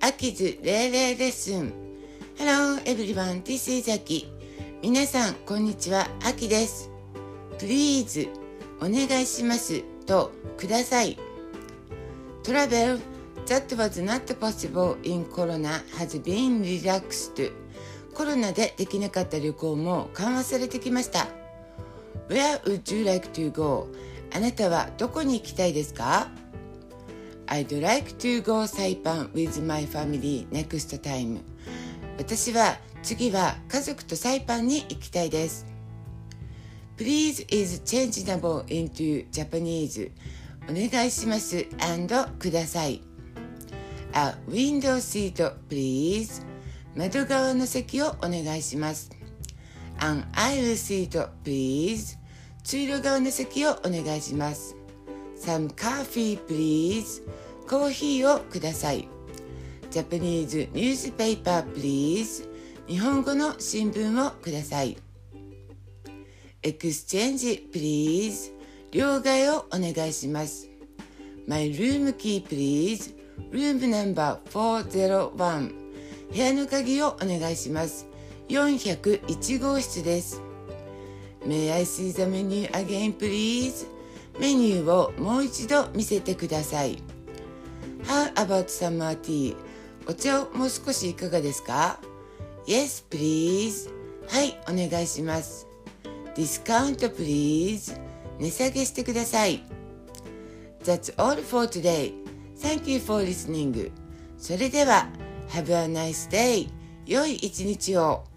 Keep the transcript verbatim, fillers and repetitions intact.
Aki's レーレーレッスン Hello everyone, this is Aki。 皆さんこんにちは、アキです。 Please お願いしますとください。 Travel that was not possible in Corona has been relaxed。 コロナでできなかった旅行も緩和されてきました。 Where would you like to go？ あなたはどこに行きたいですか？ I'd like to go Saipan with my family next time。 私は次は家族とサイパンに行きたいです。 Please is changeable into Japanese。 お願いします and ください。 A window seat please。 窓側の席をお願いします。 An aisle seat please。 通路側の席をお願いします。 Some coffee please。 コーヒーをください。 Japanese newspaper please。 日本語の新聞をください。 Exchange please。 両替をお願いします。 My room key please。 Room number よんぜろいち。部屋の鍵をお願いします。よんひゃくいち号室です。 May I see the menu again please？ メニューをもう一度見せてください。 How about summer tea？ お茶をもう少しいかがですか？ Yes please。 はい、お願いします。 Discount please。 値下げしてください。 That's all for today。 Thank you for listening。 それではHave a nice day。 良い一日を。